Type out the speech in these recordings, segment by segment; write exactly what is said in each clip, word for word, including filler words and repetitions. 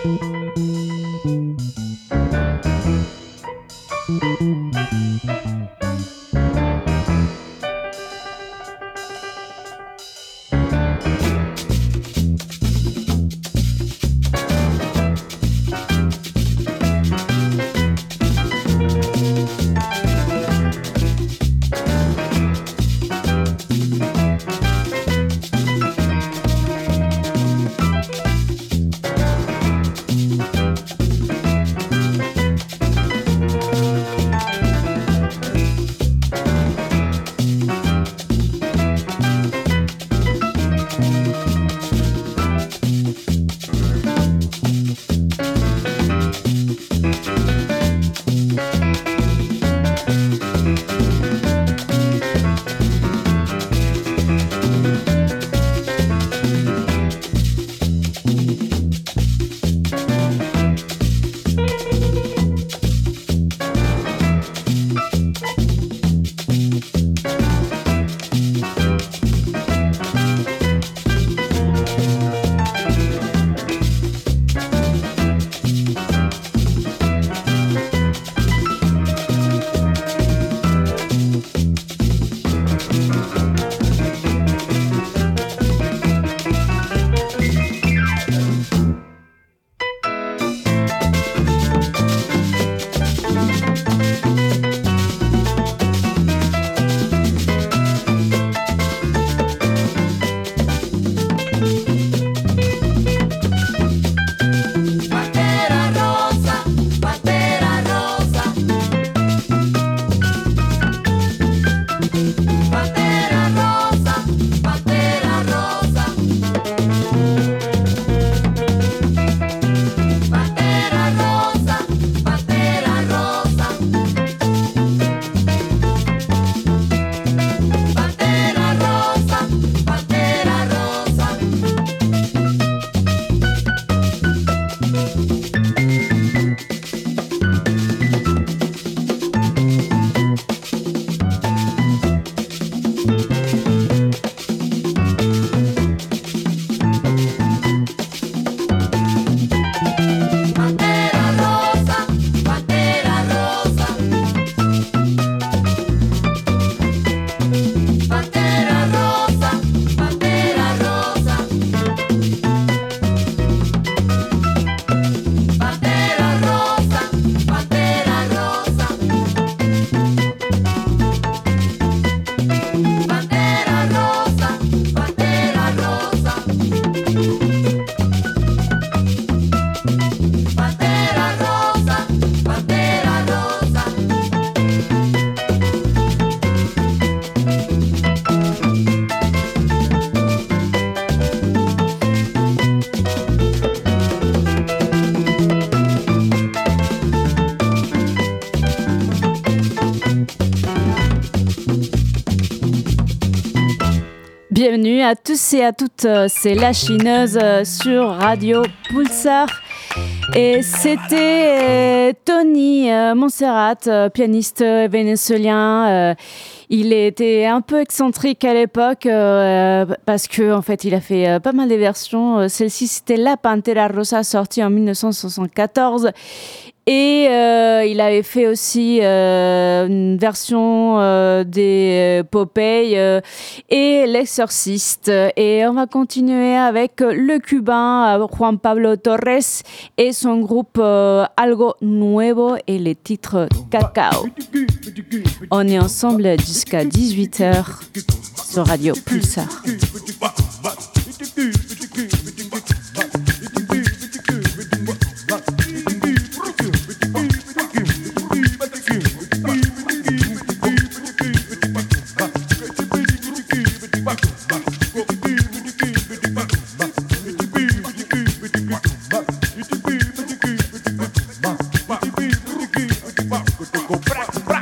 Bienvenue à tous et à toutes, c'est La Chineuse sur Radio Pulsar. Et c'était Tony Montserrat, pianiste vénézuélien. Euh, il était un peu excentrique à l'époque euh, parce que en fait, il a fait euh, pas mal de versions. Celle-ci, c'était La Pantera Rosa, sortie en dix-neuf cent soixante-quatorze. Et euh, il avait fait aussi euh, une version euh, des Popeye euh, et L'Exorciste. Et on va continuer avec le Cubain Juan Pablo Torres et son groupe euh, Algo Nuevo et les titres Cacao. On est ensemble jusqu'à dix-huit heures sur Radio Pulsar.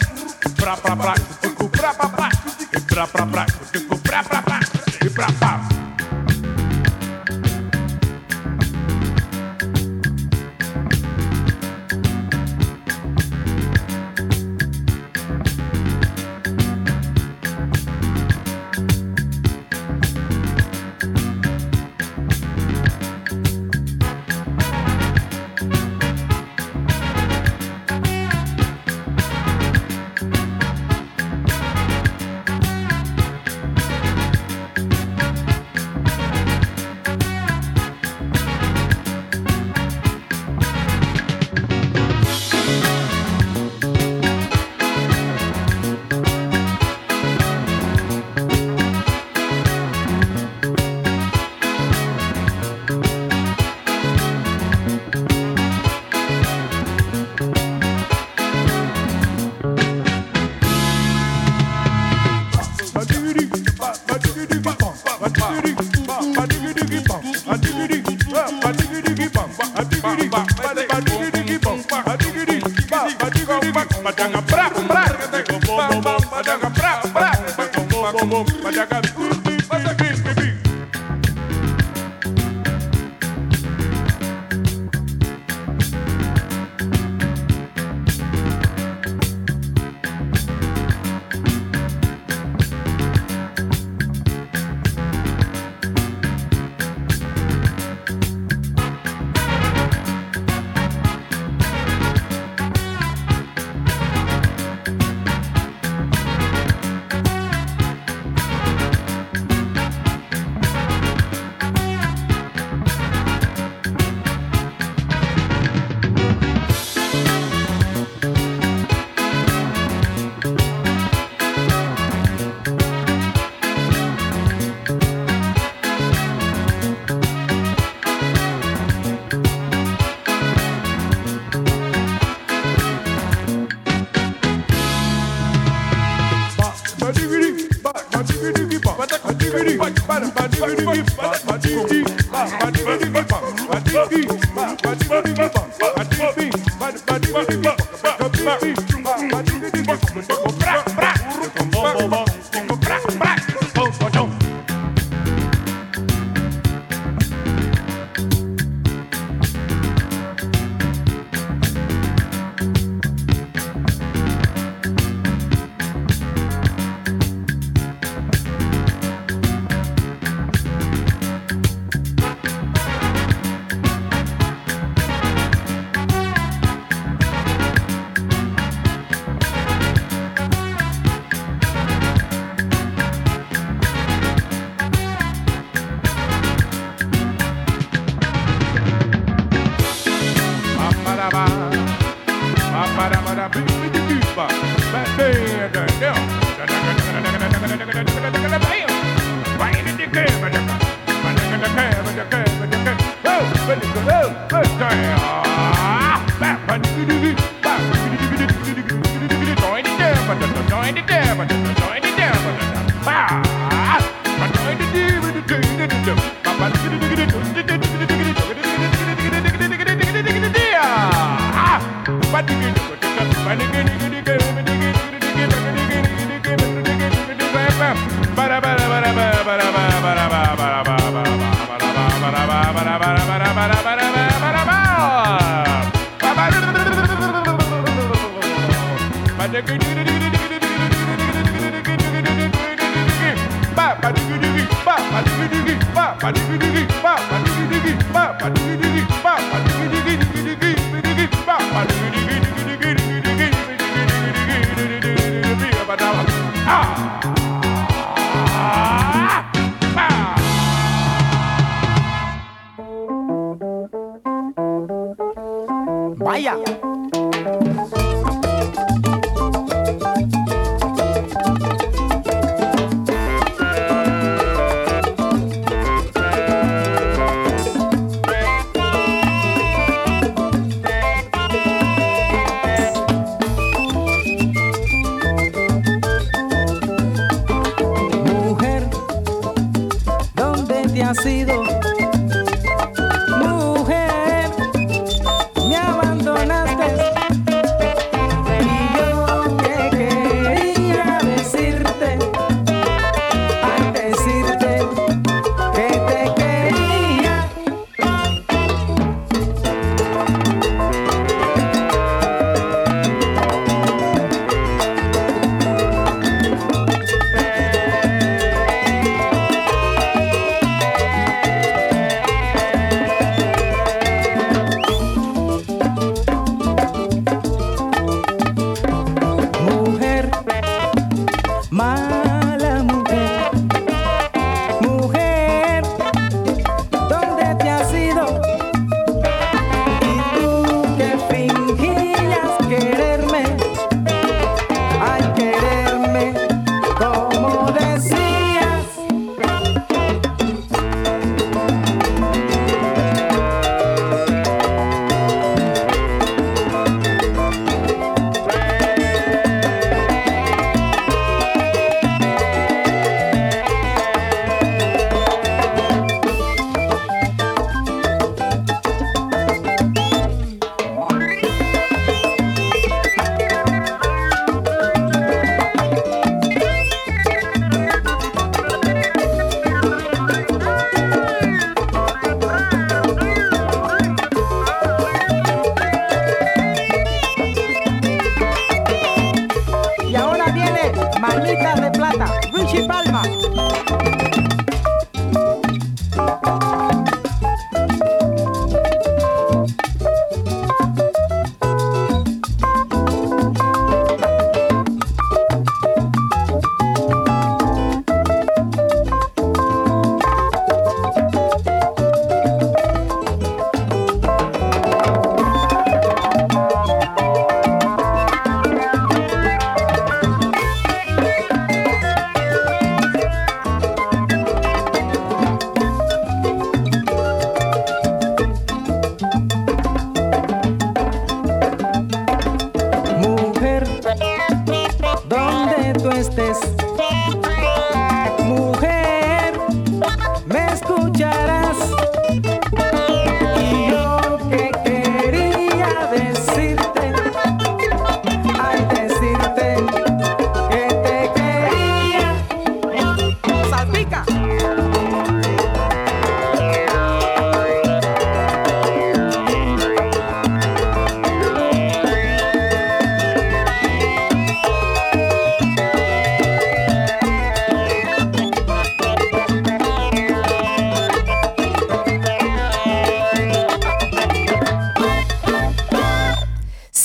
Pra, pra, pra, pra, pra, pra, pra, pra, pra, pra, pra, pra, pra, pra, pra, pra, pra, Vaya. Mujer, ¿dónde te has ido? Mujer, me abandonaste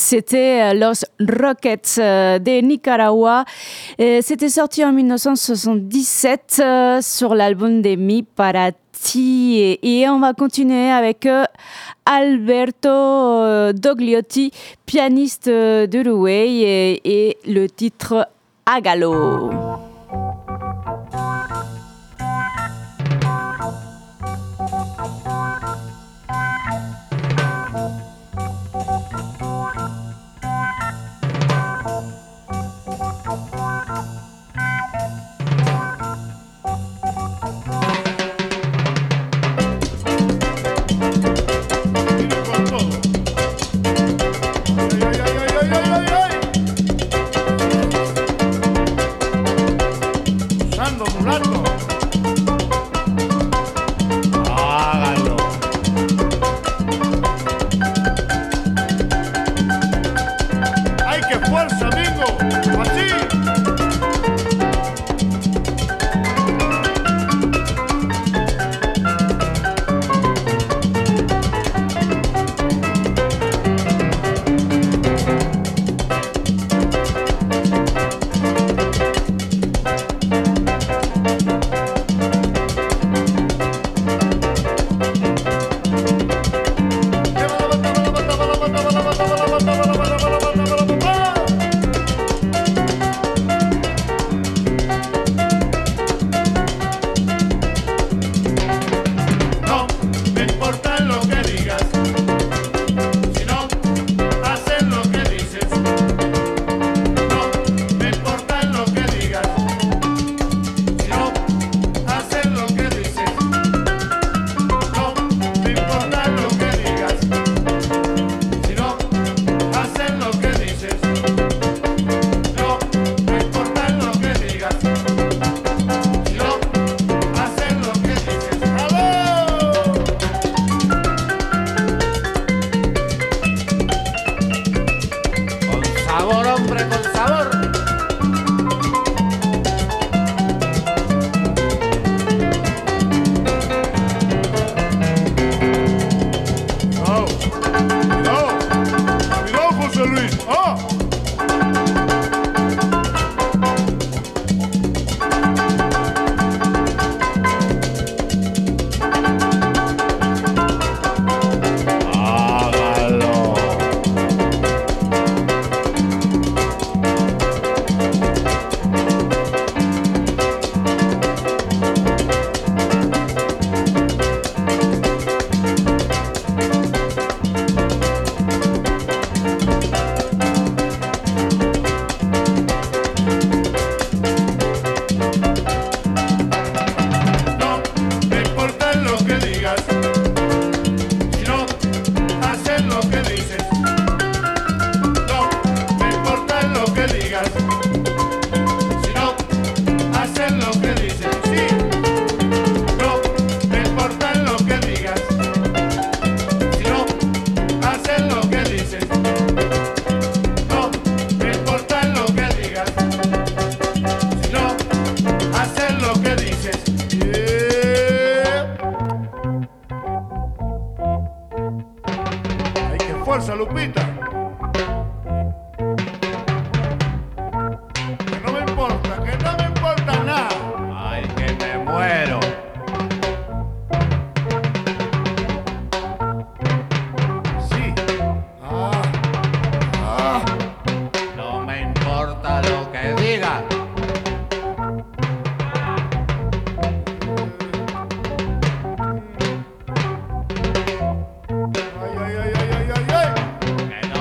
C'était Los Rockets de Nicaragua. Et c'était sorti en dix-neuf cent soixante-dix-sept euh, sur l'album de Mi Para Ti. Et, et on va continuer avec euh, Alberto euh, Dogliotti, pianiste euh, d'Uruguay, et, et le titre Hágalo. fuerza, Lupita. Que no me importa, que no me importa nada. Ay, que me muero. Sí. Ah. Ah. No me importa lo que digan. Ay, ay, ay, ay, ay, ay, ay. Que no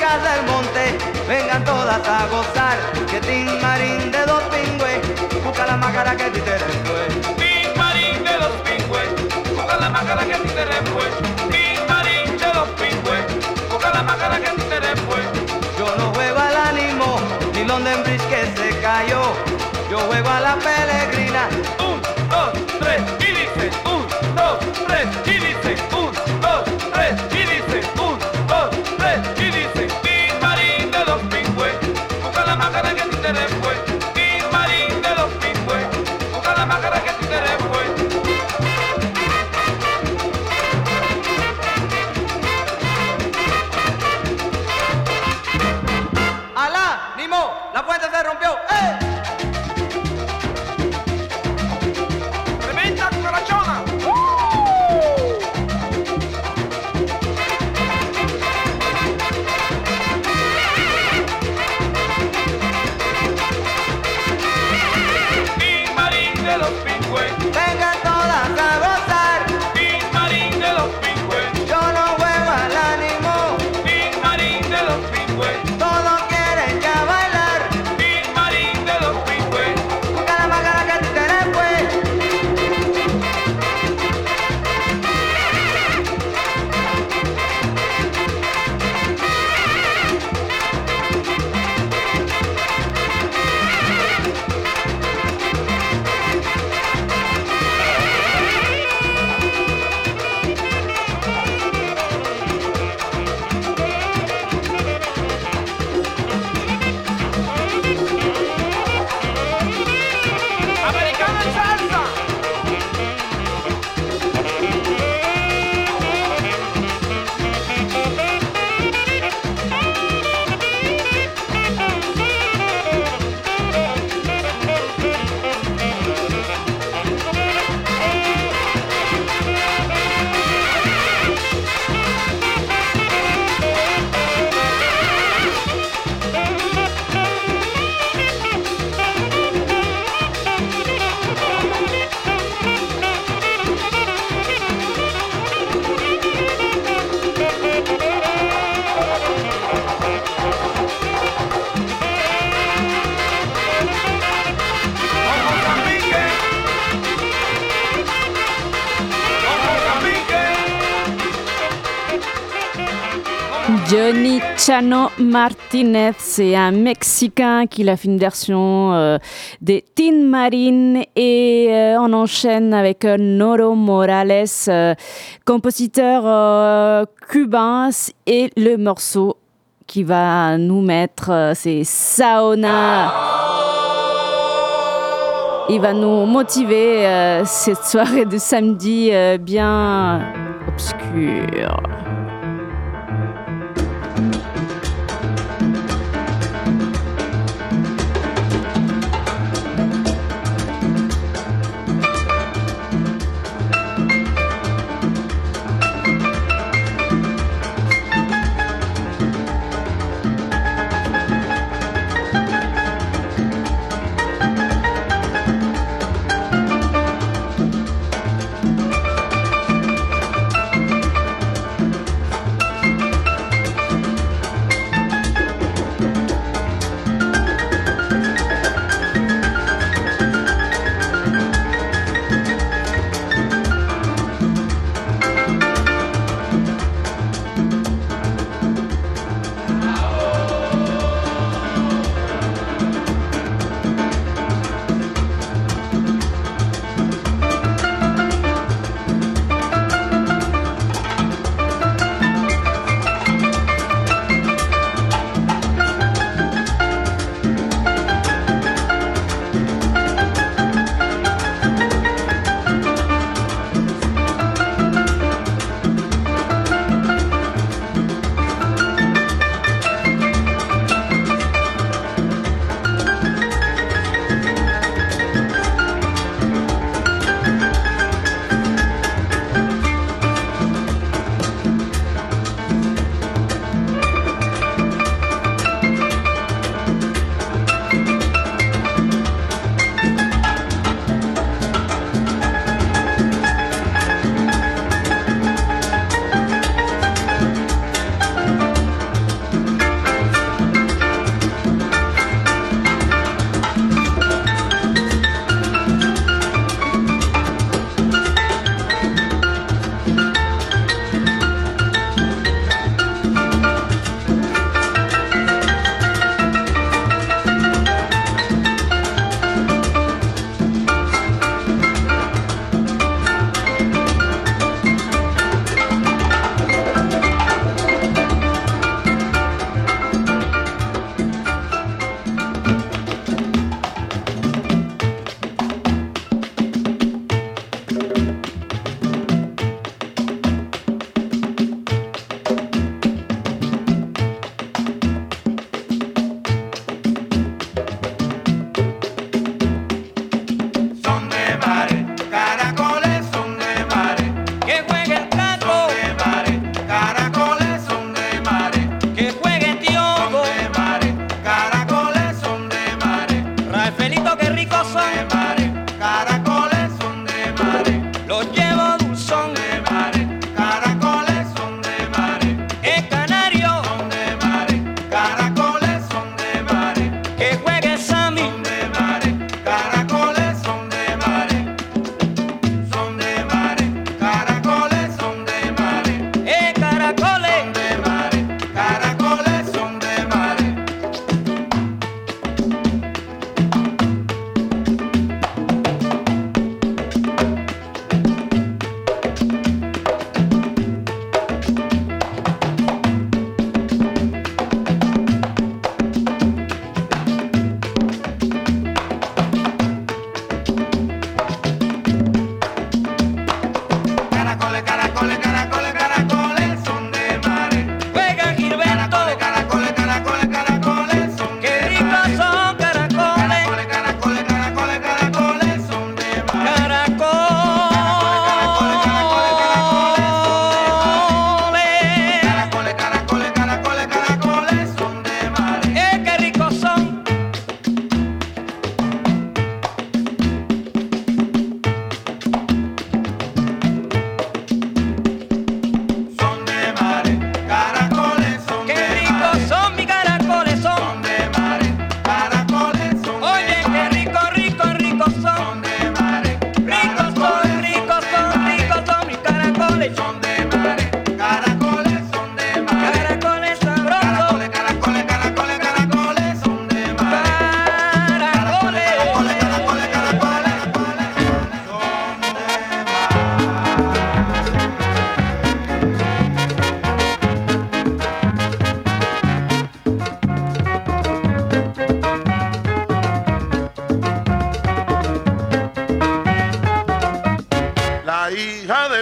nenas del monte, vengan todas a gozar, que Tin Marín de dos pingües, busca la máscara que a ti te después. Tin Marín de dos pingües, busca la máscara que a ti te después. Tin Marín de dos pingües, busca la máscara que a ti te después. Yo no juego al ánimo, ni London Bridge que se cayó, yo juego a la peregrina. Un, dos, tres, y dice, un, dos, tres, y dice, un, dos, tres, y dice, un, dos, tres, y dice, Tin Marín de dos pingües, busca la máscara que a ti te después. Tin Marín de dos pingües, busca la máscara que a ti te después. ¡Alá! ¡Nimo! ¡La puerta se rompió! ¡Eh! ¡Tremenda cucarachona! Tin Marín de los pingües, Vengan todas a gozar, Tin Marín de los pingües, yo no juego al ánimo, Tin Marín de los pingües, todos quieren ya bailar, Tin Marín de los pingües. busca la máscara que a ti te después. Americana en salsa. Con Mozambique. Con Mozambique. Johnny Chano Martinez, c'est un Mexicain qui a fait une version euh, des Tin Marín et euh, on enchaîne avec euh, Noro Morales, euh, compositeur euh, cubain, et le morceau qui va nous mettre, euh, c'est Saona. Il va nous motiver euh, cette soirée de samedi euh, bien obscure.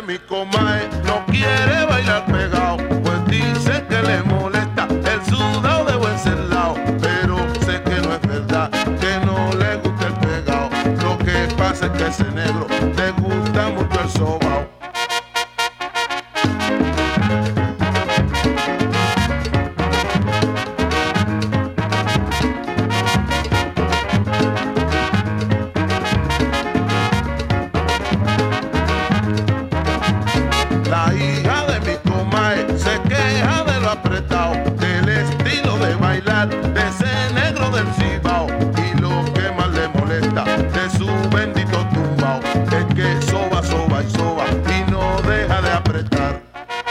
mi comadre no quiere bailar pegado, pues dice que le molesta el sudado de buen celao. Pero sé que no es verdad, que no le gusta el pegado. Lo que pasa es que ese negro le gusta mucho el sobao. La hija de mi comadre se queja de lo apretado, del estilo de bailar de ese negro del Cibao. Y lo que más le molesta de su bendito tumbao es que soba, soba y soba y no deja de apretar.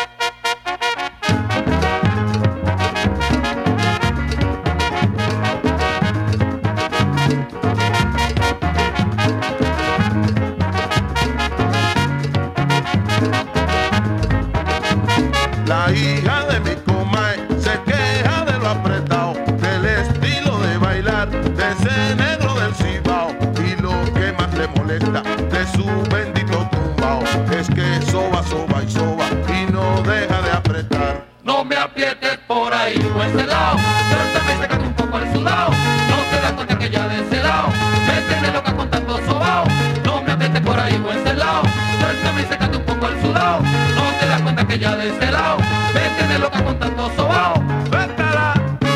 La hija de mi comadre se queja de lo apretado, del estilo de bailar de ese negro del Cibao. Y lo que más le molesta de su bendito tumbao es que soba, soba y soba y no deja de apretar. No me aprietes por ahí o ese lado, suéltame, sácate un poco al sudado. No te das cuenta que ya de ese lado me tienes loca con tanto sobao. No me aprietes por ahí o ese lado, suéltame, sácate un poco al sudado. No te das cuenta que ya de ese lado me tienes loca con tanto sobao. Suéltala.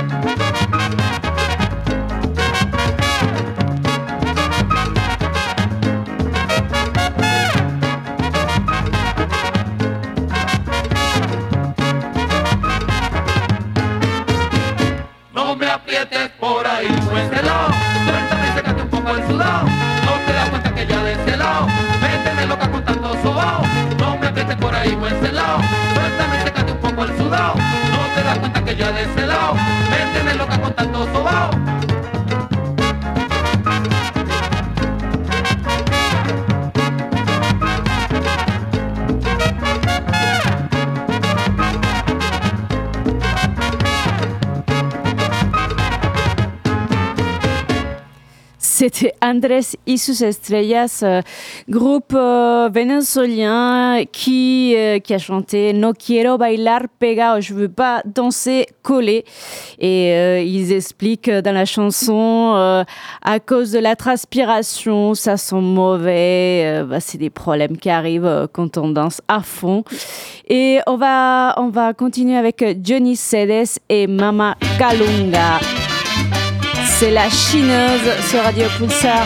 No me aprietes por ahí o ese lado, suéltame, sácate un poco al sudado. No te das cuenta que ya de ese lado me tienes loca con tanto sobao. No me aprietes por ahí o ese lado, suéltame, sácate un poco al sudado. No te das cuenta que ya de ese lado me tienes loca con tanto sobao. C'était Andrés y sus estrellas, euh, groupe euh, vénézuélien qui, euh, qui a chanté No quiero bailar pegado, je veux pas danser collé. Et euh, ils expliquent dans la chanson, euh, à cause de la transpiration, ça sent mauvais, euh, bah, c'est des problèmes qui arrivent euh, quand on danse à fond. Et on va, on va continuer avec Johnny Cedes et Mama Calunga. C'est la chineuse sur Radio Pulsar.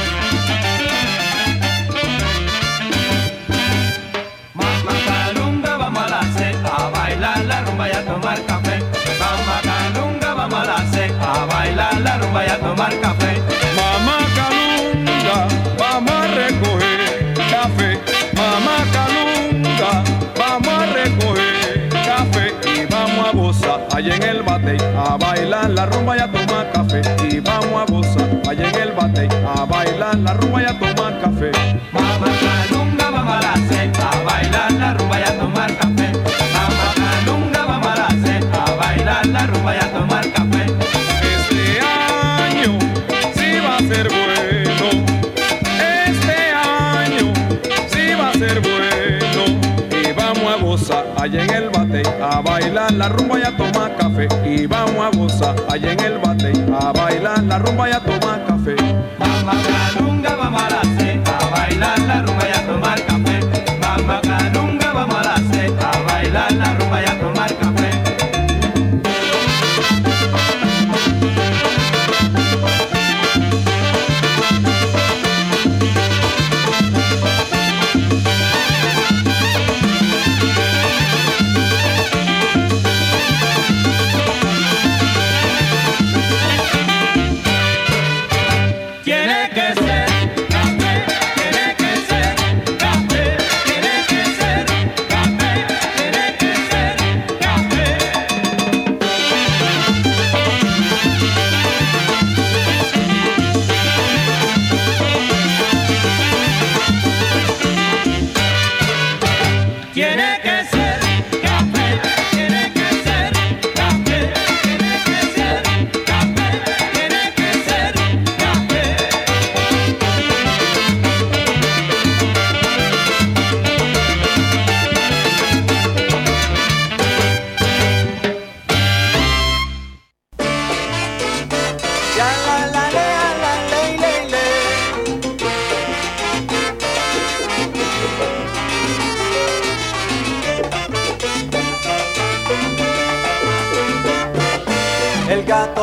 Mama Calunga, vamos a la C, a bailar la rumba y a tomar café. Mama Calunga, vamos a la C, a bailar la rumba y a tomar café. Mamá Calunga, vamos a recoger café. Mamá Calunga, vamos a recoger café y vamos a gozar allá en el bate, a bailar la rumba y a tomar café. Y vamos a gozar allá en el bate, a bailar la rumba y a tomar café. Mama Calunga, vamos a la C, a bailar la rumba y a tomar café. Mama Calunga, vamos a la C, a bailar la rumba y a tomar café. Este año sí va a ser bueno, este año sí va a ser bueno. Y vamos a gozar allá en el bate, a bailar la rumba y a tomar café. Y vamos a gozar allá en el bate, a bailar la rumba y a tomar café. Mama Calunga, vamos a la C, a bailar la rumba y a tomar café. Mama Calunga, vamos a la C, a bailar la rumba y a tomar café.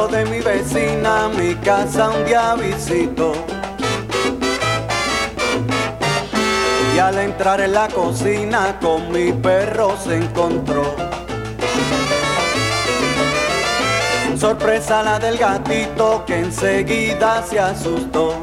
gato de mi vecina, mi casa un día visitó. Y al entrar en la cocina con mi perro se encontró. Sorpresa la del gatito que enseguida se asustó.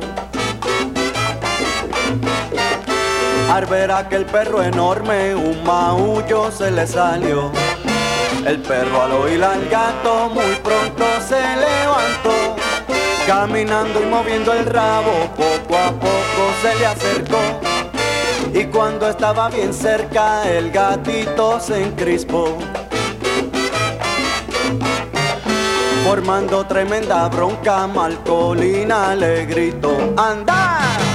Al ver aquel perro enorme, un maullo se le salió. El perro al oír al gato muy pronto se levantó. Caminando y moviendo el rabo, poco a poco se le acercó. Y cuando estaba bien cerca, el gatito se encrispó, formando tremenda bronca. Malcolina le gritó: ¡anda!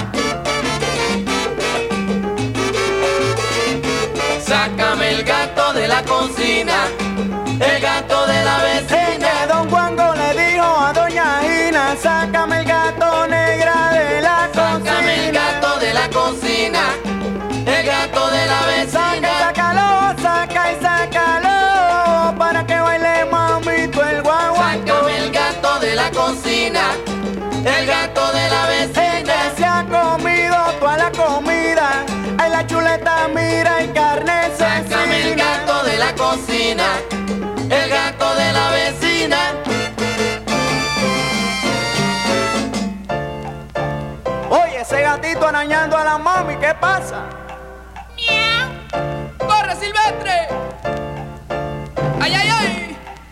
Sácame el gato de la cocina, el gato de la vecina. Que don Juango le dijo a doña Gina: sácame el gato negra de la cocina. Sácame el gato de la cocina, el gato de la vecina. Saca, sácalo, saca y sácalo, para que baile mamito el guaguancó. Sácame el gato de la cocina, el gato de la vecina. Que se ha comido toda la comida, en la chuleta mira y carne cecina. Sácame el gato de la cocina, el gato de la vecina. Oye, ese gatito arañando a la mami, ¿qué pasa? ¡Miau! ¡Corre, Silvestre! ¡Ay, ay, ay!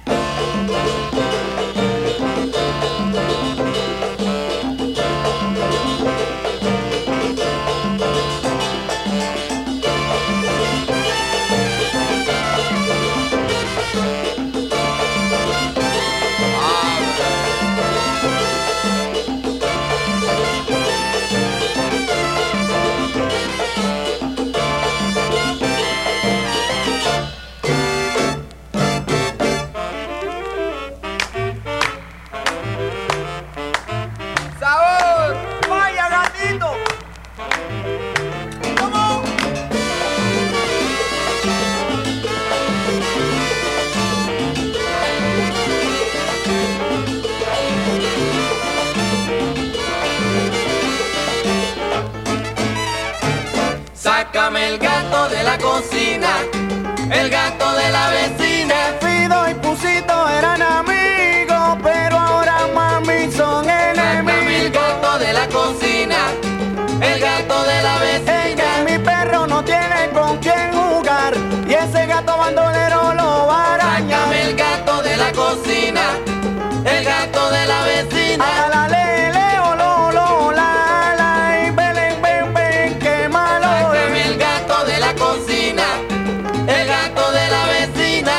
Sácame el gato de la cocina, el gato de la vecina. Fido y Pusito eran amigos, pero ahora mami son enemigos. Sácame el gato de la cocina, el gato de la vecina. Es que mi perro no tiene con quién jugar, y ese gato bandolero lo va a arañar. Sácame el gato de la cocina, el gato de la vecina. A la le, le, o, lo, lo, la, la, y ven, ven, ven, qué malo. Sácame el gato de la cocina, el gato de la vecina.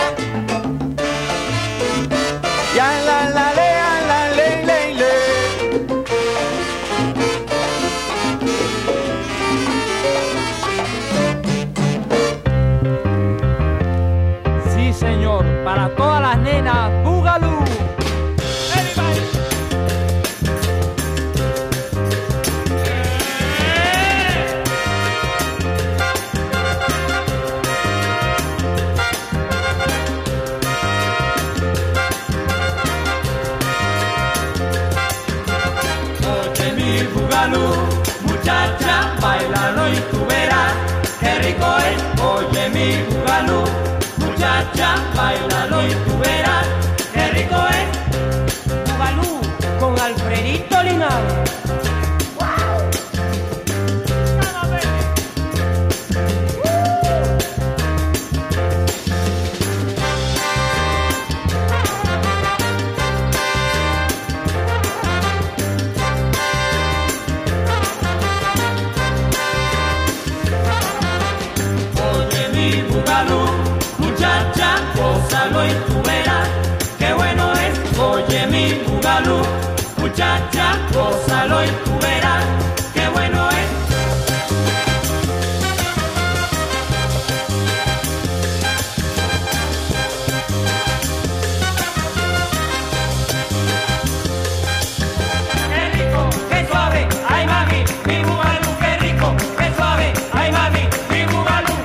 Ya la, la, le, a la, le, le, le. Sí, señor, para todas las nenas, Boogaloo. Oye mi Boogaloo, muchacha, bailalo y tú verás qué rico es. Oye mi Boogaloo, muchacha, bailalo y tú verás qué rico es. Boogaloo con Alfredito Linares. Oye mi Boogaloo, muchacha, gózalo y tú verás qué bueno es. Oye mi Boogaloo, muchacha, gózalo y tú verás qué bueno es. Qué rico, qué suave, ay mami, mi Boogaloo, qué rico, qué suave, ay mami, mi Boogaloo.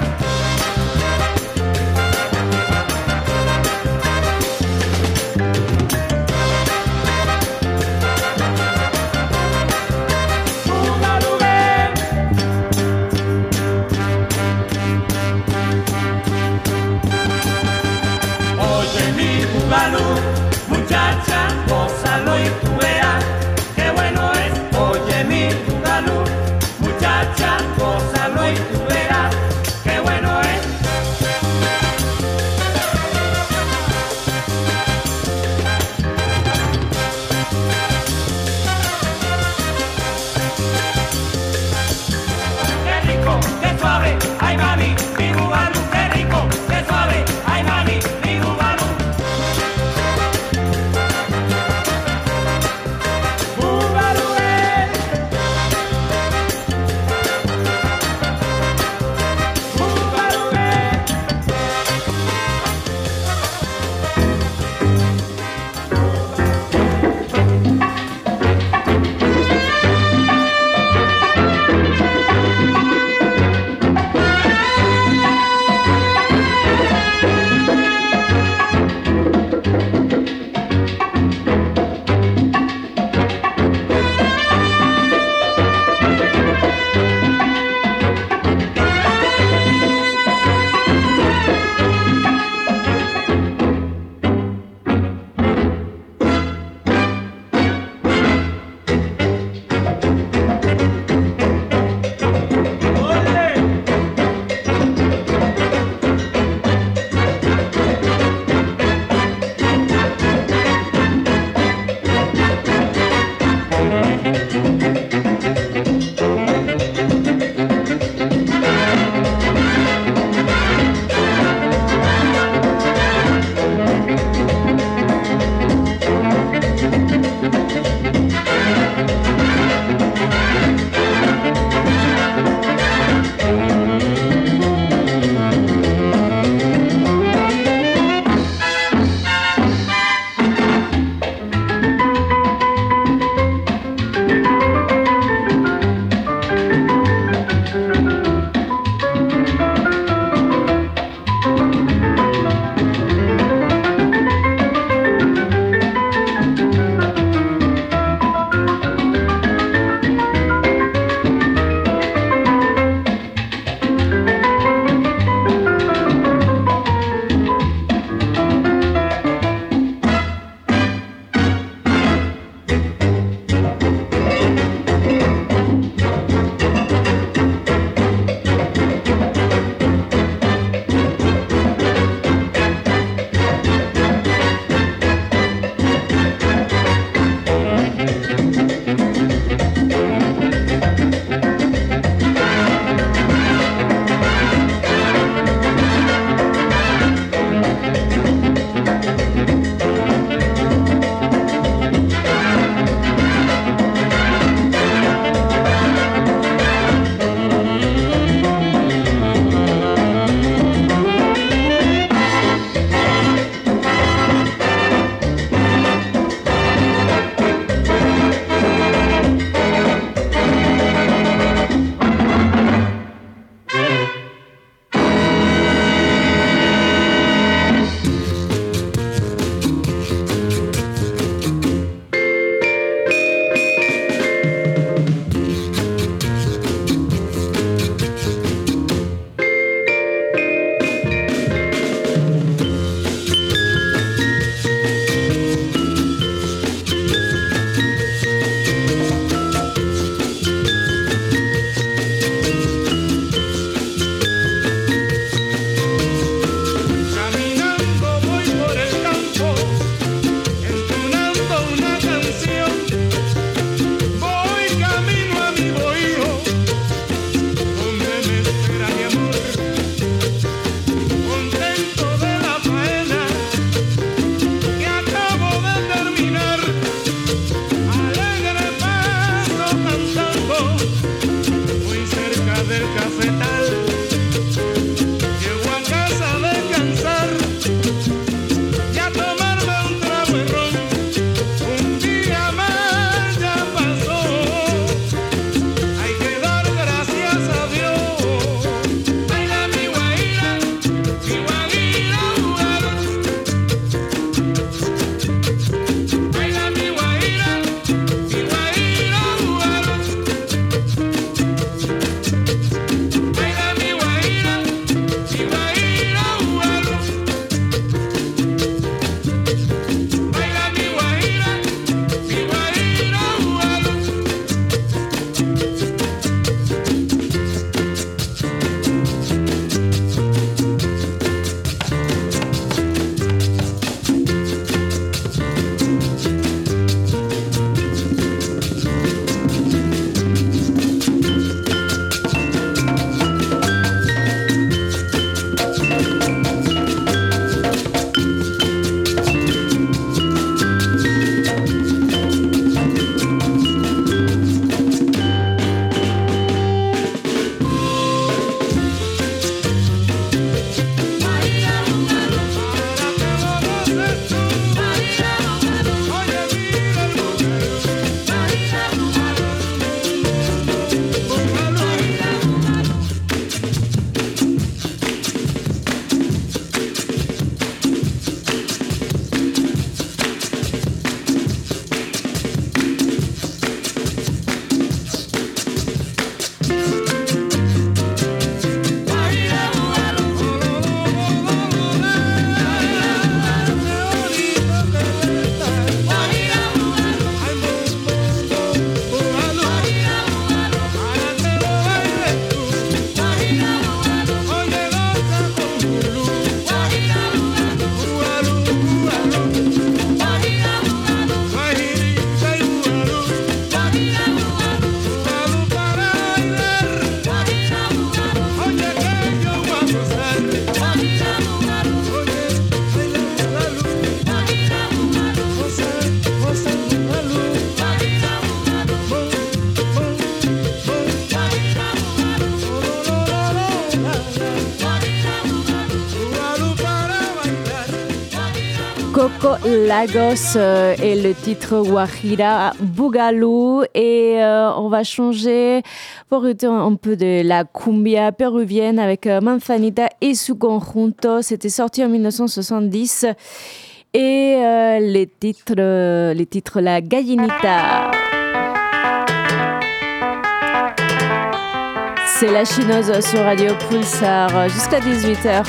Lagos euh, et le titre Guajira Boogaloo. Et euh, on va changer pour écouter un peu de la cumbia péruvienne avec euh, Manzanita et su conjunto. C'était sorti en dix-neuf cent soixante-dix. Et euh, les titres, euh, les titres La Gallinita. C'est la Chinoise sur Radio Pulsar jusqu'à dix-huit heures.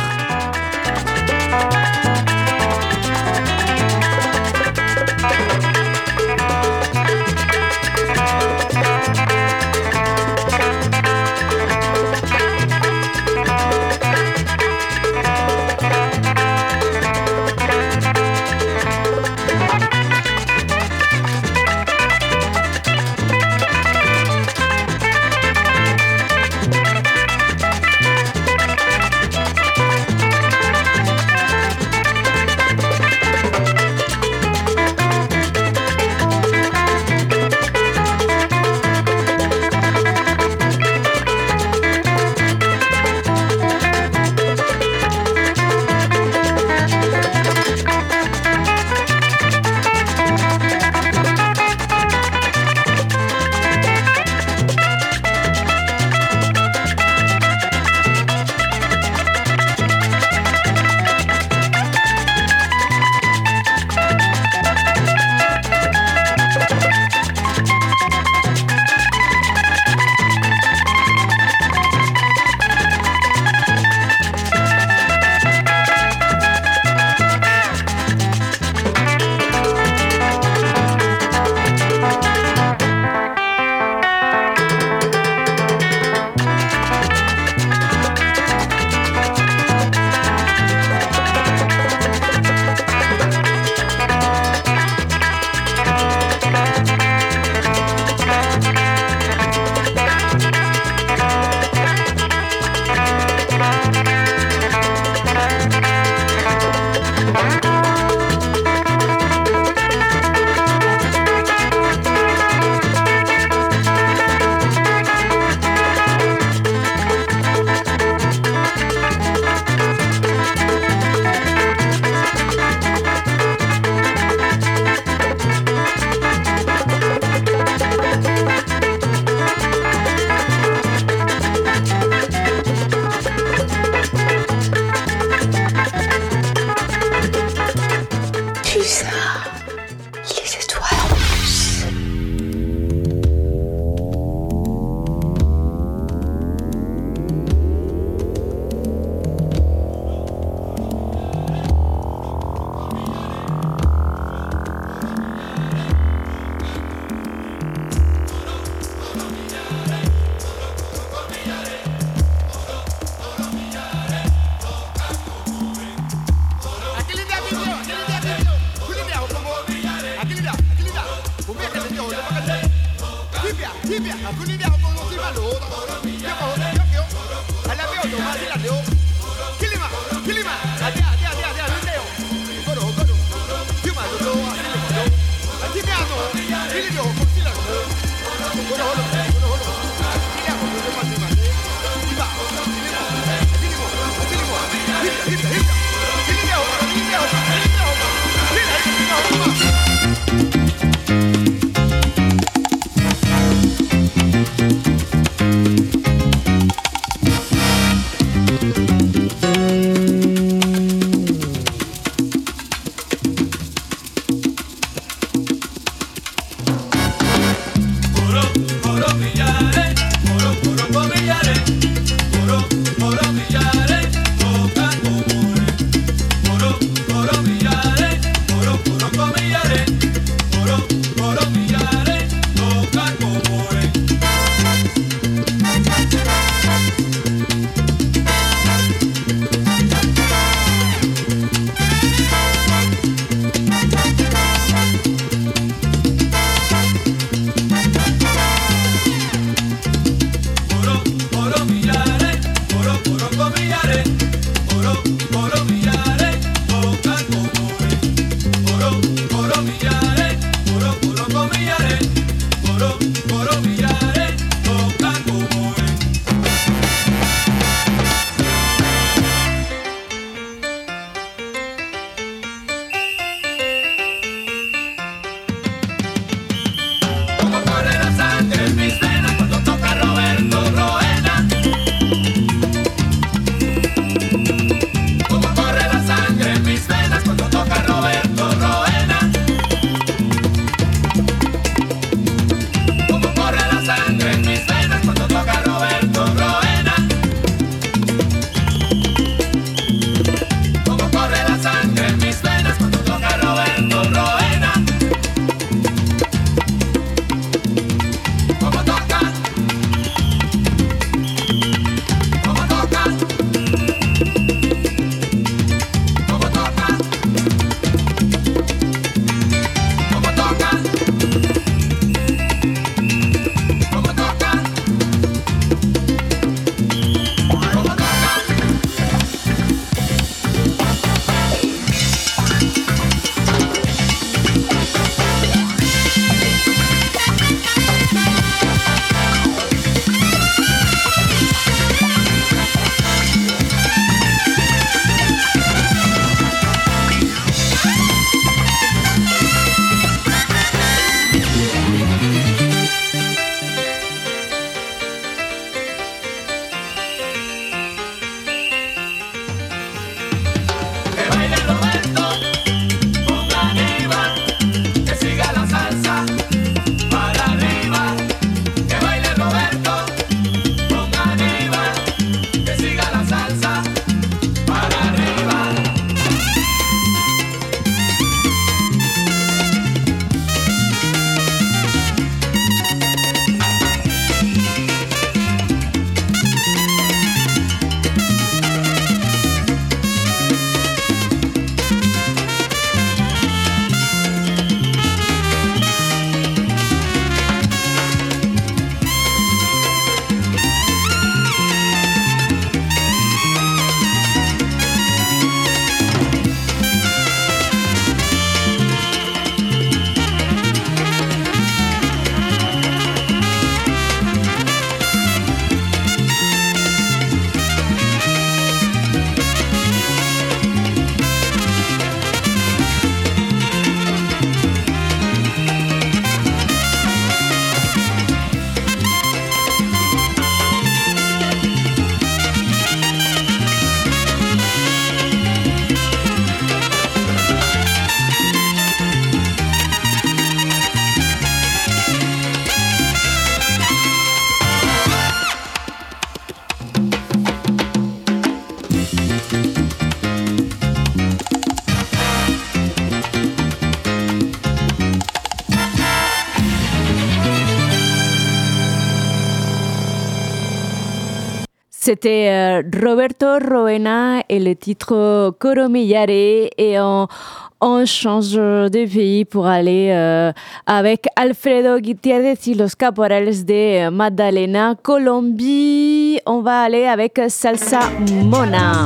C'était euh, Roberto Roena et le titre Coromillare, et on, on change de pays pour aller euh, avec Alfredo Gutiérrez y los Caporales de Magdalena, Colombie. On va aller avec Salsa Mona.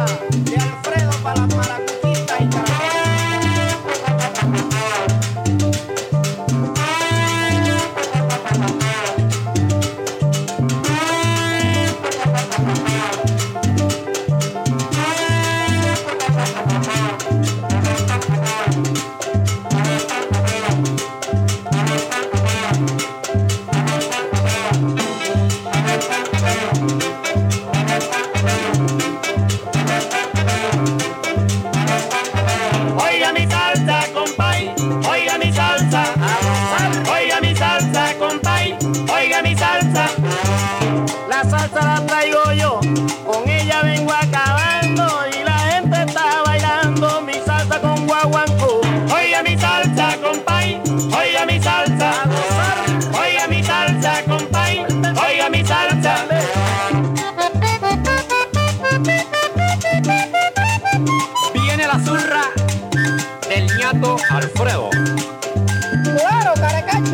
Alfredo. Claro, caracacho.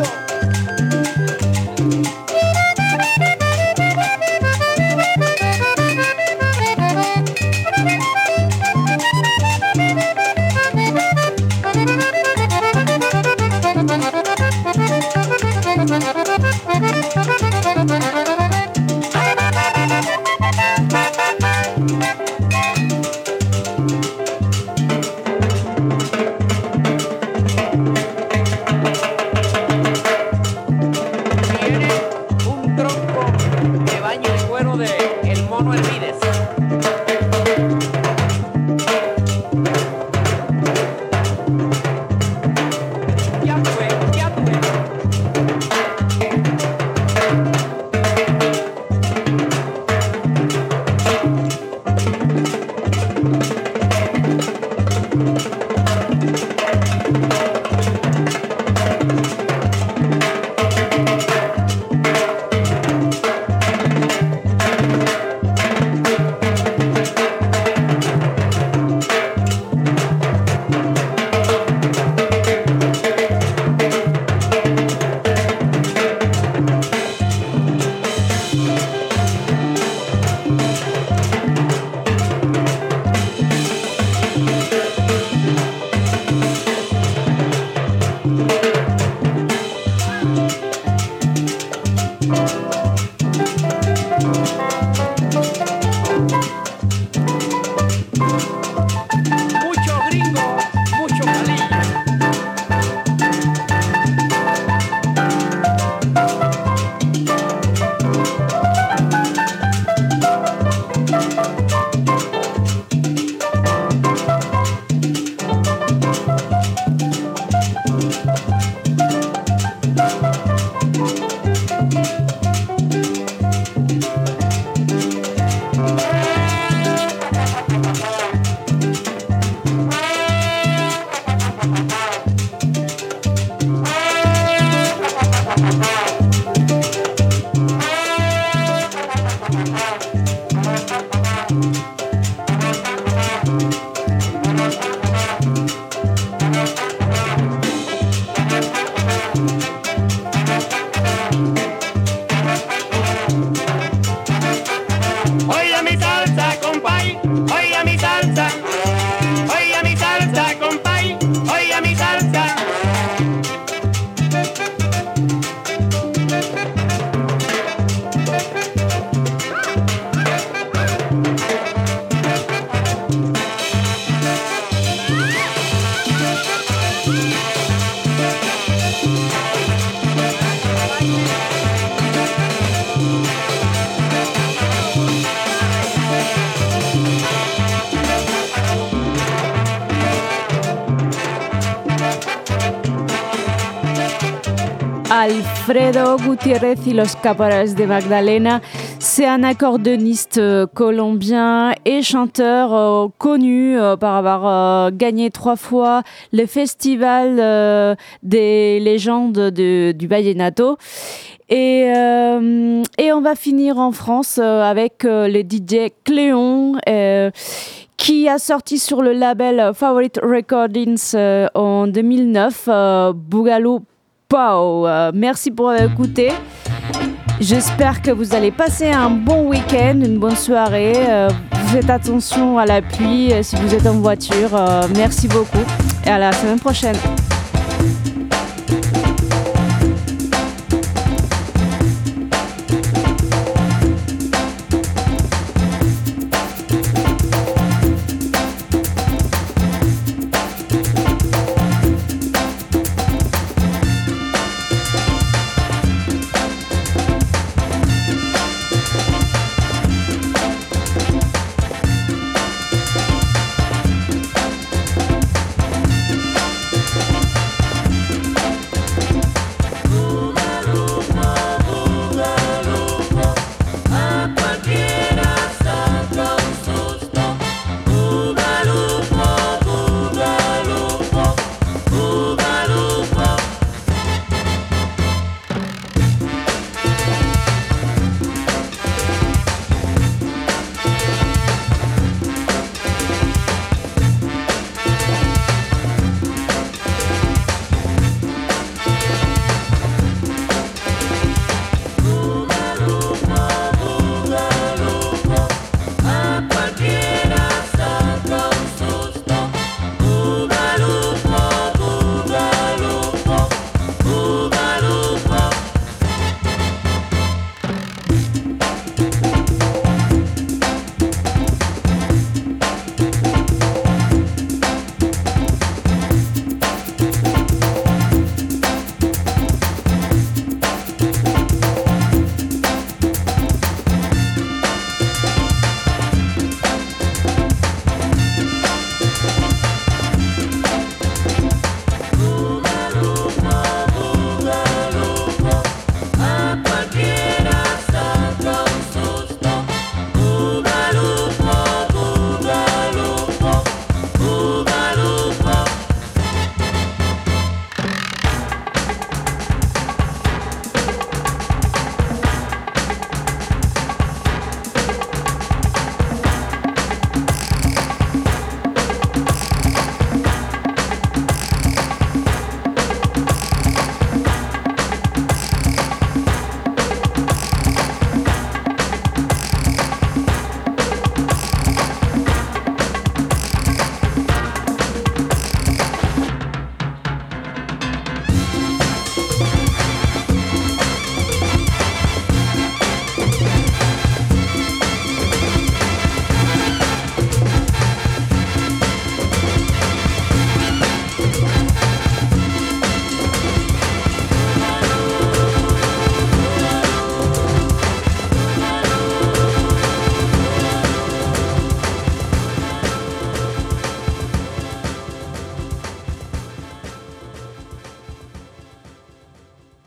Alfredo Gutiérrez y los Caporales de Magdalena. C'est un accordéoniste euh, colombien et chanteur euh, connu euh, par avoir euh, gagné trois fois le festival euh, des légendes de, du Vallenato. Et, euh, et on va finir en France euh, avec euh, le D J Cléon euh, qui a sorti sur le label Favorite Recordings euh, en deux mille neuf euh, Boogaloo Pow. Euh, merci pour écouter. J'espère que vous allez passer un bon week-end, une bonne soirée. Euh, faites attention à la pluie euh, si vous êtes en voiture. Euh, merci beaucoup et à la semaine prochaine.